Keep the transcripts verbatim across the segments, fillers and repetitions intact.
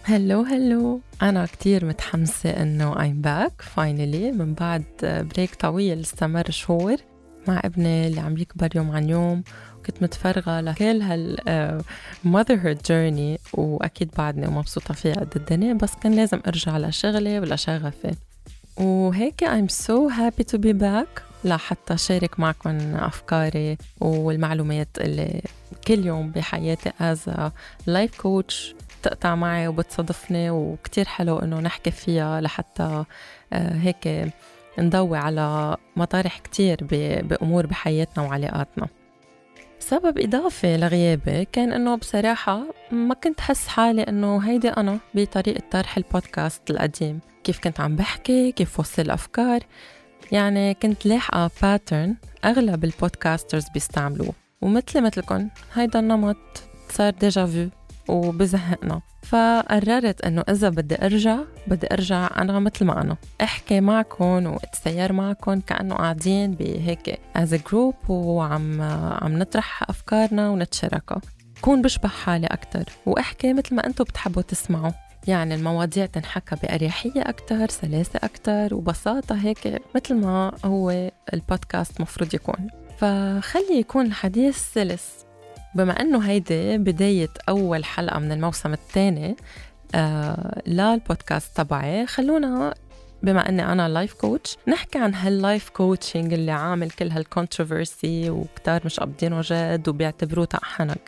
هلو هلو، أنا كتير متحمسة إنه I'm back finally من بعد بريك طويل استمر شهور مع ابني اللي عم يكبر يوم عن يوم. وكنت متفرغة لكل هال uh, motherhood journey، وأكيد بعدني ومبسوطة فيها قد الدنيا، بس كان لازم أرجع لشغلي ولا شغفي. وهيك I'm so happy to be back لحتى شارك معكم أفكاري والمعلومات اللي كل يوم بحياتي as a life coach تقطع معي وبتصادفني، وكتير حلو إنه نحكي فيها لحتى هيك نضوي على مطارح كتير بأمور بحياتنا وعلاقاتنا. سبب إضافي لغيابي كان إنه بصراحة ما كنت حس حالي إنه هيدي أنا بطريقة طرح البودكاست القديم، كيف كنت عم بحكي، كيف وصل الأفكار. يعني كنت لاحقة باترن أغلب البودكاسترز بيستعملوه، ومثل مثلكم هيدا النمط صار ديجا فيو وبزهقنا. فقررت انه اذا بدي ارجع بدي ارجع انا مثل ما انا احكي معكم واتسير معكم كأنه قاعدين بهيك as a group وعم عم نطرح افكارنا ونتشاركها، كون بشبه حالي اكتر واحكي مثل ما انتم بتحبوا تسمعوا. يعني المواضيع تنحكى بأريحية أكتر، سلاسة أكتر وبساطة، هيك مثل ما هو البودكاست مفروض يكون. فخلي يكون الحديث سلس. بما أنه هيدي بداية أول حلقة من الموسم الثاني آه للبودكاست تبعي، خلونا بما أني أنا لايف كوتش نحكي عن هاللايف كوتشنج اللي عامل كل هالكونتروفرسي وكتار مش قابضينه جد وبيعتبروه تقحنك.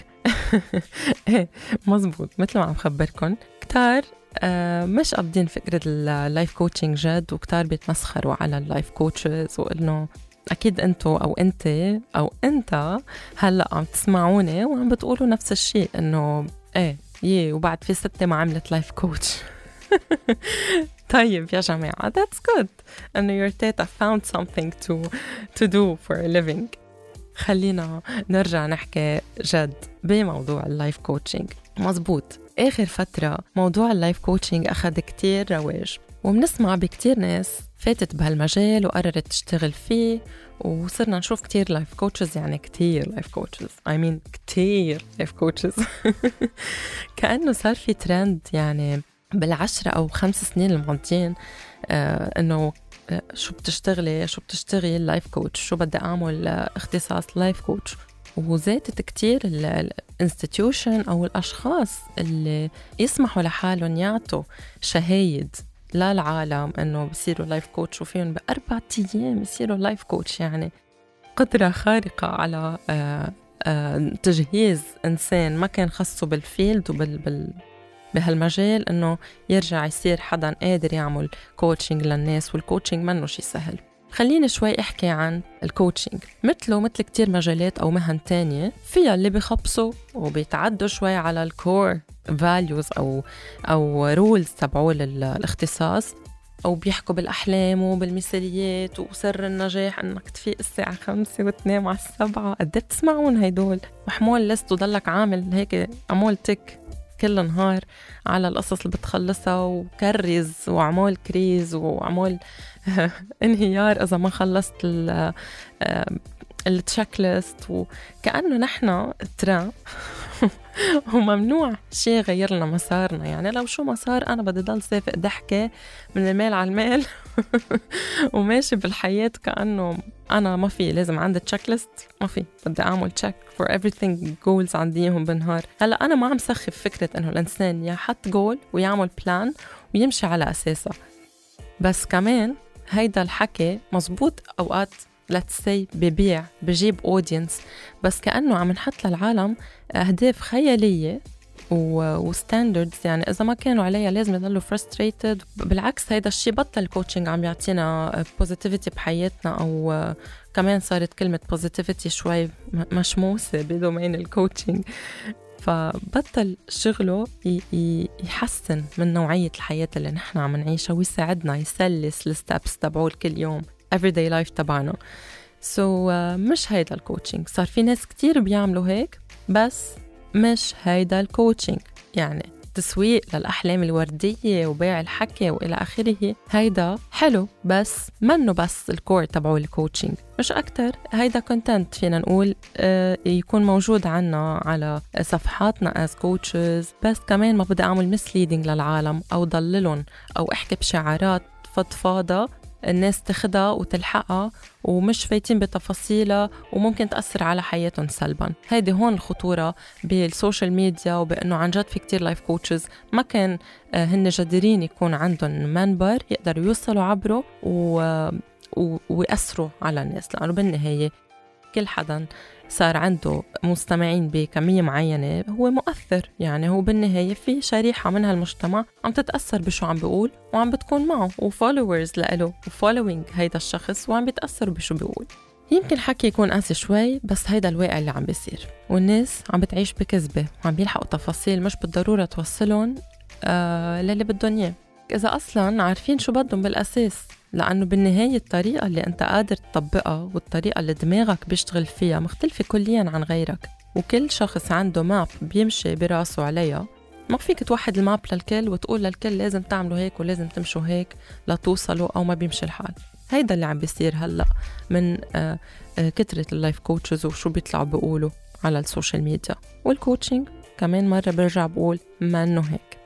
مزبوط، مثل ما عم خبركن كتار آه مش قابضين فكرة اللايف كوتشنج جد، وكتار بيتمسخروا على اللايف كوتشز، وإنه أكيد أنتوا أو أنت أو أنت هلأ عم تسمعوني وعم بتقولوا نفس الشيء، إنه إيه يه وبعد في ستة ما عملت لايف كوتش. طيب يا جماعة that's good إنه your tata found something to to do for a living. خلينا نرجع نحكي جد بموضوع اللايف كوتشنج. مزبوط، آخر فترة موضوع اللايف كوتشنج أخذ كتير رواج، وبنسمع بكتير ناس فاتت بهالمجال وقررت تشتغل فيه، وصرنا نشوف كتير لايف كوتشز. يعني كتير لايف كوتشز I mean كتير لايف كوتشز. كأنه صار في ترند يعني بالعشرة أو خمس سنين الماضيين آه إنه آه شو بتشتغلي شو بتشتغل لايف كوتش، شو بدي أعمل آه اختصاص لايف كوتش. وزادت كتير الانستيتيوشن أو الأشخاص اللي يسمحوا لحالهم يعطوا شهايد للعالم إنه بيصيروا لايف كوتش، وفيهم بأربعة أيام يصيروا لايف كوتش. يعني قدرة خارقة على آآ آآ تجهيز إنسان ما كان خصه بالفيلد وبال بال بهالمجال إنه يرجع يصير حدا قادر يعمل كوتشنج للناس. والكوتشنج منه شي سهل. خليني شوي أحكي عن الكوتشنج. مثله مثل كتير مجالات أو مهن تانية فيها اللي بيخبصوا وبيتعدوا شوي على الكور values أو أو rules تبعوا الاختصاص، أو بيحكوا بالأحلام وبالمثاليات وسر النجاح إنك تفيق الساعة خمسة وتنام على السبعة. قد تسمعون هيدول محمول لست وضلك عامل هيك عمول تك كل نهار على القصص اللي بتخلصها، وكرز وعمول كريز وعمول انهيار إذا ما خلصت التشيك ليست. وكأنه نحن ترى وممنوع شيء غير لنا مسارنا. يعني لو شو مسار أنا بدي ضل سافق ضحكة من المال على المال وماشي بالحياة كأنه أنا ما في لازم عندي تشيك ليست، ما في بدي أعمل تشيك for everything goals عنديهم بالنهار. هلأ أنا ما عم سخف فكرة أنه الإنسان يحط جول ويعمل بلان ويمشي على أساسه، بس كمان هيدا الحكي مزبوط أوقات let's say ببيع بجيب audience، بس كأنه عم نحط للعالم أهداف خيالية وستاندردز يعني إذا ما كانوا عليها لازم يضلوا frustrated. بالعكس هيدا الشيء بطل الكوتشنج عم يعطينا positivity بحياتنا، أو كمان صارت كلمة positivity شوي مشموسة بدومين الكوتشنج. فبطل شغله يحسن من نوعية الحياة اللي نحن عم نعيشها ويساعدنا يسلس الستابس تبعول كل يوم everyday life تبعنا. so uh, مش هيدا الكوتشنج. صار في ناس كتير بيعملوا هيك بس مش هيدا الكوتشنج. يعني تسويق للأحلام الوردية وبيع الحكي وإلى آخره، هيدا حلو بس منه بس الكور تبعو الكوتشنج، مش أكتر. هيدا كونتنت فينا نقول آه يكون موجود عنا على صفحاتنا as coaches، بس كمان ما بدي أعمل misleading للعالم أو ضللهم أو أحكي بشعارات فضفاضة الناس تاخدها وتلحقها ومش فايتين بتفاصيلها وممكن تأثر على حياتهم سلبا. هيدي هون الخطورة بالسوشيال ميديا، وبأنه عن جد في كتير لايف كوتشز ما كان هن جديرين يكون عندهم منبر يقدروا يوصلوا عبره و... و... ويأثروا على الناس، لأنه بالنهاية كل حدا صار عنده مستمعين بكمية معينة هو مؤثر. يعني هو بالنهاية في شريحة من هالمجتمع عم تتأثر بشو عم بيقول وعم بتكون معه وفولورز لإله وفولوينج هيدا الشخص وعم بيتأثر بشو بيقول. يمكن حكي يكون قاسي شوي، بس هيدا الواقع اللي عم بيصير، والناس عم بتعيش بكذبة وعم بيلحقوا تفاصيل مش بالضرورة توصلهم آه للي بدهم إياه، إذا أصلاً عارفين شو بدهم بالأساس. لأنه بالنهاية الطريقة اللي أنت قادر تطبقها والطريقة اللي دماغك بيشتغل فيها مختلفة كلياً عن غيرك، وكل شخص عنده ماب بيمشي براسه عليها. ما فيك توحد الماب للكل وتقول للكل لازم تعملوا هيك ولازم تمشوا هيك لتوصلوا، أو ما بيمشي الحال. هيدا اللي عم بيصير هلأ من آه آه كترة اللايف كوتشز وشو بيطلعوا بيقولوا على السوشيال ميديا والكوتشنج. كمان مرة برجع بقول ما إنه هيك.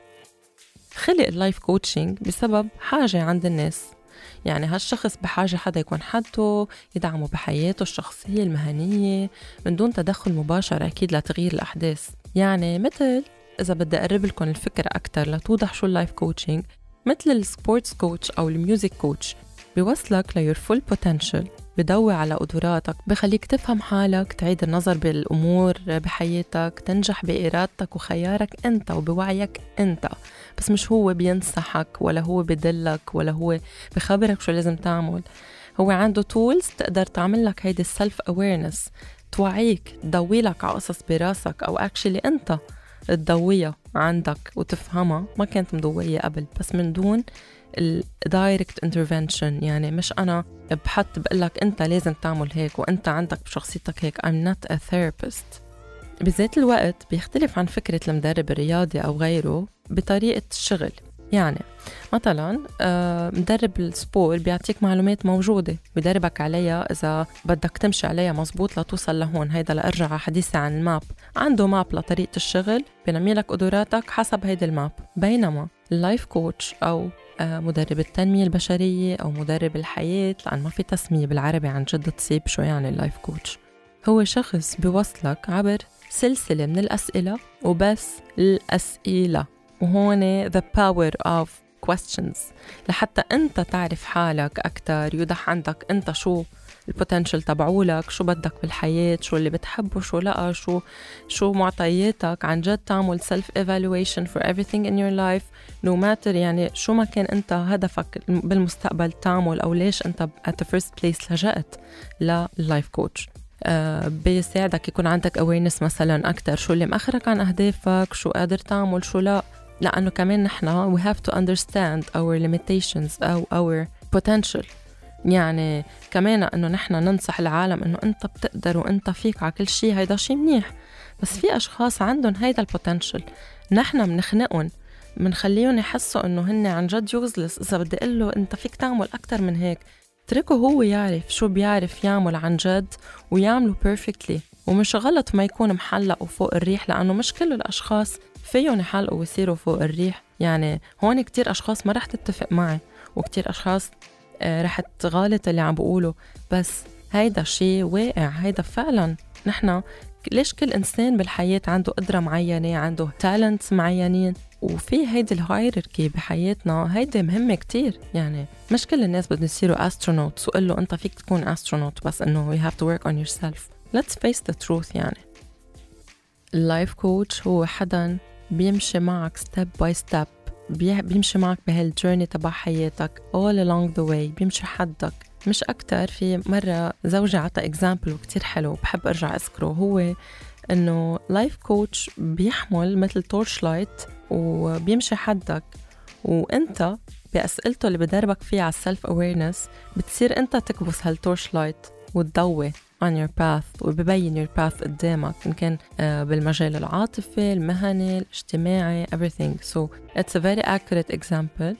خلق اللايف كوتشنج بسبب حاجة عند الناس، يعني هالشخص بحاجة حدا يكون حده يدعمه بحياته الشخصية المهنية من دون تدخل مباشر أكيد لتغيير الأحداث. يعني مثل إذا بدي أقرب لكم الفكرة أكتر لتوضح شو اللايف كوتشنج، مثل السبورتس كوتش أو الميوزك كوتش بيوصلك ليور فول بوتنشل، بدوي على قدراتك، بخليك تفهم حالك، تعيد النظر بالأمور بحياتك، تنجح بإرادتك وخيارك أنت وبوعيك أنت. بس مش هو بينصحك ولا هو بدلك ولا هو بخبرك شو لازم تعمل. هو عنده تولز تقدر تعمل لك هيدي السلف أويرنس، توعيك، تضوي لك على قصص براسك أو أكشلي أنت تضويها عندك وتفهمها ما كانت مضوية قبل، بس من دون الدايركت انترفنشن. يعني مش أنا بحط بقلك أنت لازم تعمل هيك وأنت عندك بشخصيتك هيك. I'm not a therapist. بذات الوقت بيختلف عن فكرة المدرب الرياضي أو غيره بطريقة الشغل. يعني مثلا مدرب السبور بيعطيك معلومات موجودة بدربك عليها إذا بدك تمشي عليها مزبوط لتوصل لهون. هيدا لأرجع على حديثي عن الماب، عنده ماب لطريقة الشغل بينمي لك قدراتك حسب هيدا الماب. بينما اللايف كوتش أو مدرب التنمية البشرية أو مدرب الحياة، لأن ما في تسمية بالعربي عن جد تصيب شو يعني اللايف كوتش، هو شخص بيوصلك عبر سلسلة من الأسئلة وبس الأسئلة، وهون the power of questions لحتى أنت تعرف حالك أكتر، يوضح عندك أنت شو البوتنشل تبعولك، شو بدك بالحياة، شو اللي بتحبه، شو لأ، شو شو معطياتك. عن جد تعمل self evaluation for everything in your life no matter يعني شو ما كان أنت هدفك بالمستقبل تعمل أو ليش أنت at the first place لجأت لللايف كوتش. Uh, بيساعدك يكون عندك awareness مثلا أكتر شو اللي مأخرك عن أهدافك، شو قادر تعمل شو لا. لأنه كمان نحنا we have to understand our limitations أو our potential. يعني كمان أنه نحنا ننصح العالم أنه أنت بتقدر وأنت فيك على كل شيء، هيدا شيء منيح، بس في أشخاص عندهم هيدا البوتنشل نحنا منخنقهم، منخليهم يحسوا أنه هن عن جد يوزلس. إذا بدي أقله أنت فيك تعمل أكتر من هيك، تركه هو يعرف شو بيعرف يعمل عن جد ويعمله perfectly. ومش غلط ما يكون محلق وفوق الريح، لأنه مش كل الأشخاص فيهم يحلقوا ويصيروا فوق الريح. يعني هون كتير أشخاص ما رح تتفق معي وكتير أشخاص آه رح تغالط اللي عم بقوله، بس هيدا شيء واقع. هيدا فعلا نحنا ليش كل إنسان بالحياة عنده قدرة معينة، عنده talents معينين، وفي هيدي الهايراركي بحياتنا هيدي مهمة كتير. يعني مش كل الناس بدهم يصيروا astronauts وقل له أنت فيك تكون astronaut، بس إنه you have to work on yourself. Let's face the truth. يعني اللايف كوتش هو حدا بيمشي معك step by step، بيمشي معك بهالجيرني تبع حياتك all along the way، بيمشي حدك مش أكتر. في مرة زوجي عطى example وكتير حلو بحب أرجع أذكره، هو إنه لايف كوتش بيحمل مثل تورش لايت وبيمشي حدك، وأنت بأسئلته اللي بدربك فيه على السلف أويرنس بتصير أنت تكبس هالتورش لايت وتضوي on your path وببين your path قدامك، إن كان بالمجال العاطفي المهني الاجتماعي everything. so it's a very accurate example.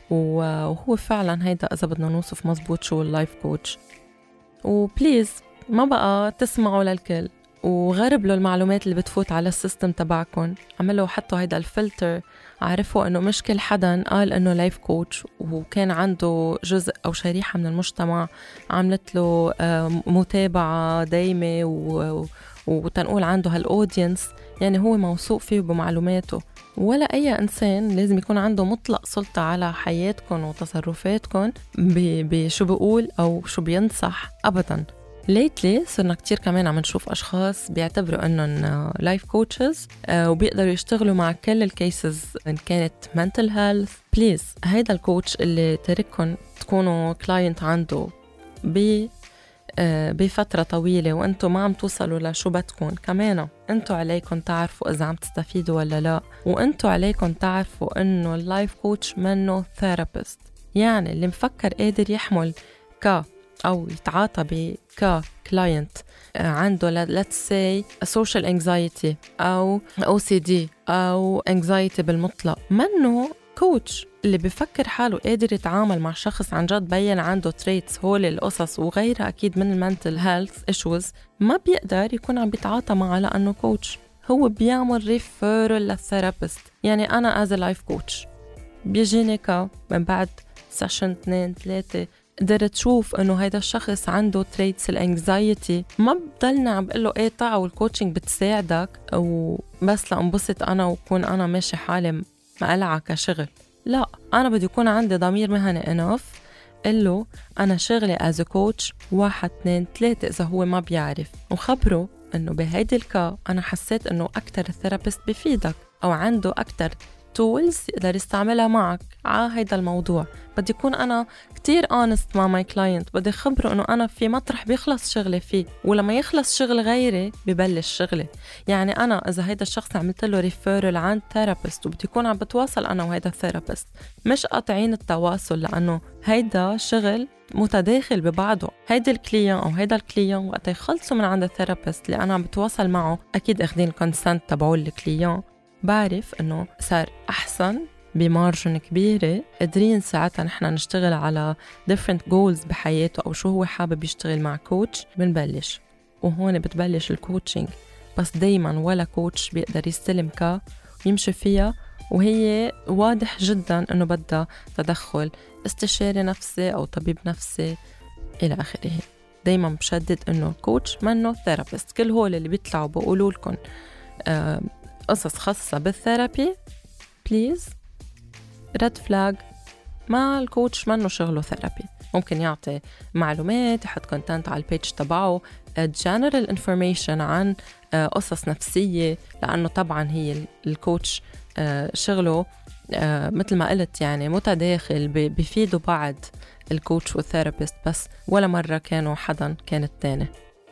وهو فعلا هيدا إذا بدنا نوصف مزبوط شو اللايف كوتش. وبليز ما بقى تسمعوا للكل وغرب له المعلومات اللي بتفوت على السيستم تبعكم. عملوا حطوا هيدا الفلتر، عرفوا انه مش كل حدا قال انه لايف كوتش وكان عنده جزء او شريحة من المجتمع عملت له متابعة دايمة وتنقول عنده هالاودينس، يعني هو موثوق فيه بمعلوماته. ولا أي إنسان لازم يكون عنده مطلق سلطة على حياتكم وتصرفاتكم بشو بيقول أو شو بينصح أبداً. ليتلي صرنا كتير كمان عم نشوف أشخاص بيعتبروا أنهم لايف كوتشز وبيقدروا يشتغلوا مع كل الكيسز إن كانت mental health. بليز هيدا الكوتش اللي ترككم تكونوا كلاينت عنده ب بفترة طويلة وأنتوا ما عم توصلوا لشو بدكم، كمان أنتوا عليكم تعرفوا إذا عم تستفيدوا ولا لا، وأنتوا عليكم تعرفوا أنه اللايف كوتش منه ثيرابيست. يعني اللي مفكر قادر يحمل ك أو يتعاطى بك كلاينت عنده let's say social anxiety أو أو سي دي أو anxiety بالمطلق، منه كوتش. اللي بفكر حاله قادر يتعامل مع شخص عن جد بيّن عنده تريتس هول القصص وغيرها أكيد من المنتل هيلث إيشوز، ما بيقدر يكون عم بيتعاطى معه لأنه كوتش. هو بيعمل ريفيرل للثيرابيست. يعني أنا as a life coach بيجيني كا من بعد سيشن اثنين ثلاثة قدرت تشوف انه هيدا الشخص عنده تريتس الانكزايتي، ما بضلنا عم بقول له ايه طاعة والكوتشنج بتساعدك وبس لانبسط انا وكون انا ماشي حالي مقلعة كشغل. لا، انا بدي يكون عندي ضمير مهني انف قله انا شغلي از كوتش واحد اثنين ثلاثة اذا هو ما بيعرف، وخبره انه بهيدي الكا انا حسيت انه اكتر الثيرابيست بفيدك او عنده اكتر تولز يقدر يستعملها معك على هيدا الموضوع. بدي يكون أنا كتير honest مع ماي كلاينت، بدي خبره أنه أنا في مطرح بيخلص شغلي فيه، ولما يخلص شغل غيري ببلش شغلي. يعني أنا إذا هيدا الشخص عملت له ريفيرل عن ثيرابيست وبدي يكون عم بتواصل أنا وهيدا الثيرابيست، مش قاطعين التواصل لأنه هيدا شغل متداخل ببعضه. هيدا الكليان أو هيدا الكليان وقت يخلصوا من عند الثيرابيست اللي أنا عم بتواصل معه أكيد أخذين كونسنت تبعول الكليان، بعرف إنه صار أحسن بمارجن كبيرة، قدرين ساعتها نحن نشتغل على different goals بحياته أو شو هو حابب يشتغل مع كوتش بنبلش. وهون بتبلش الكوتشنج، بس دايما ولا كوتش بيقدر يستلم كا ويمشي فيها وهي واضح جدا إنه بدها تدخل استشاري نفسي أو طبيب نفسي إلى آخره. دايما بشدد إنه الكوتش منه ثيرابيست. كل هول اللي بيطلعوا بقولوا لكم آه قصص خاصة بالثيرابي بليز ريد فلاج. ما الكوتش منه شغله ثيرابي، ممكن يعطي معلومات، يحط كونتنت على البيج تبعه general information عن قصص نفسية، لأنه طبعا هي الكوتش شغله مثل ما قلت يعني متداخل، بيفيدوا بعض الكوتش والثيرابيست، بس ولا مرة كانوا حدا كان التاني.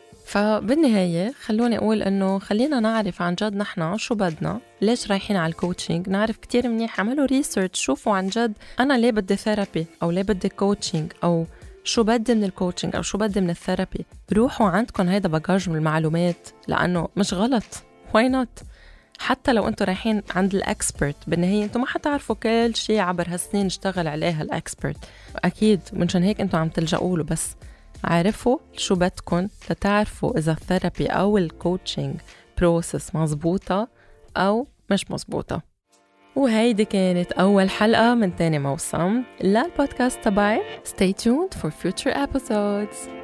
فبالنهاية خلوني أقول أنه خلينا نعرف عن جد نحنا شو بدنا، ليش رايحين على الكوتشنج، نعرف كتير منيح، عملوا ريسيرش، شوفوا عن جد أنا ليه بدي ثيرابي أو ليه بدي كوتشنج أو شو بدي من الكوتشنج أو شو بدي من الثيرابي. روحوا عندكم هيدا باجاج من المعلومات، لأنه مش غلط. why not؟ حتى لو أنتوا رايحين عند الأكسبرت، بالنهاية أنتوا ما حتعرفوا كل شيء عبر هالسنين اشتغل عليها الأكسبرت أكيد، منشان هيك أنتوا عم تلجأوا له. بس عارفوا شو بدكن لتعرفوا إذا الثيرابي أو الكوتشنج بروسس مزبوطة أو مش مزبوطة. وهيدي كانت أول حلقة من تاني موسم للبودكاست تبعي. Stay tuned for future episodes.